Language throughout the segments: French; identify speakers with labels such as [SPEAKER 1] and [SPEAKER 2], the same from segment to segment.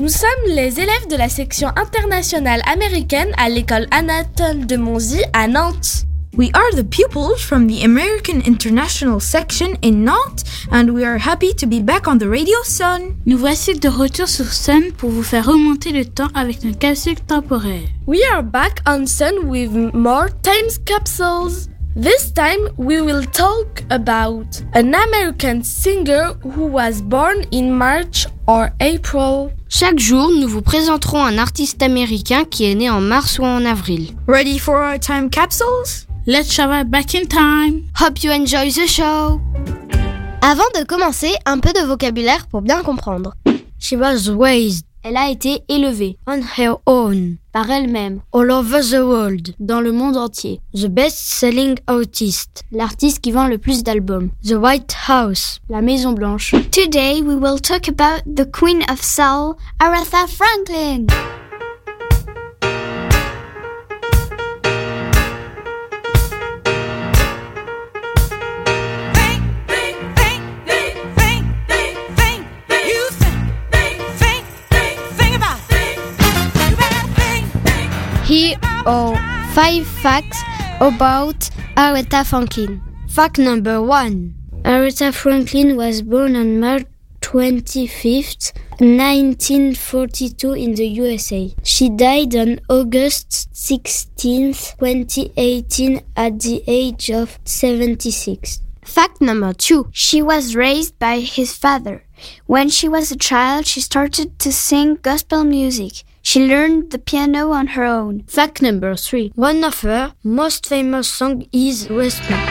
[SPEAKER 1] Nous sommes les élèves de la section internationale américaine à l'école Anatole de Monzie à Nantes.
[SPEAKER 2] We are the pupils from the American International section in Nantes and we are happy to be back on the Radio Sun.
[SPEAKER 3] Nous voici de retour sur Sun pour vous faire remonter le temps avec notre capsule temporaire.
[SPEAKER 1] We are back on Sun with more time capsules. This time we will talk about an American singer who was born in March or April.
[SPEAKER 4] Chaque jour, nous vous présenterons un artiste américain qui est né en mars ou en avril.
[SPEAKER 2] Ready for our time capsules?
[SPEAKER 3] Let's travel back in time.
[SPEAKER 4] Hope you enjoy the show.
[SPEAKER 5] Avant de commencer, un peu de vocabulaire pour bien comprendre.
[SPEAKER 4] She was raised. Elle a été élevée.
[SPEAKER 5] On her own.
[SPEAKER 4] Par elle-même.
[SPEAKER 5] All over the world.
[SPEAKER 4] Dans le monde entier.
[SPEAKER 5] The best-selling artist.
[SPEAKER 4] L'artiste qui vend le plus d'albums.
[SPEAKER 5] The White House.
[SPEAKER 4] La Maison Blanche.
[SPEAKER 6] Today we will talk about the Queen of Soul, Aretha Franklin.
[SPEAKER 5] Here are 5 facts about Aretha Franklin. Fact number 1. Aretha Franklin was born on March 25th, 1942 in the USA. She died on August 16th, 2018 at the age of 76.
[SPEAKER 6] Fact number 2. She was raised by his father. When she was a child, she started to sing gospel music. She learned the piano on her own.
[SPEAKER 5] Fact number 3. One of her most famous songs is Respect.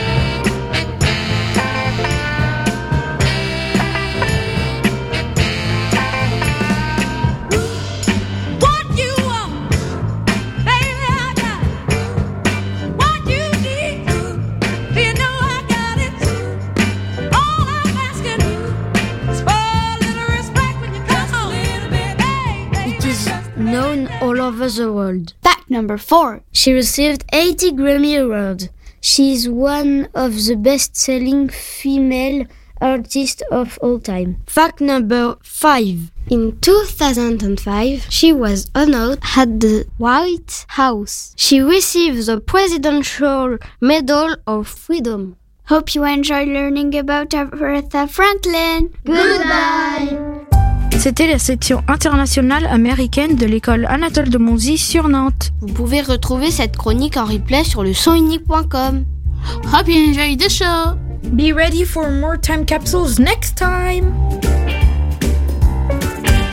[SPEAKER 5] Known all over the world.
[SPEAKER 6] Fact number 4.
[SPEAKER 5] She received 80 Grammy Awards. She is one of the best-selling female artists of all time. Fact number 5. In 2005, she was honored at the White House. She received the Presidential Medal of Freedom.
[SPEAKER 6] Hope you enjoy learning about Aretha Franklin.
[SPEAKER 5] Goodbye!
[SPEAKER 2] C'était la section internationale américaine de l'école Anatole de Monzie sur Nantes.
[SPEAKER 4] Vous pouvez retrouver cette chronique en replay sur
[SPEAKER 3] Hope you enjoy the show.
[SPEAKER 2] Be ready for more time capsules next time.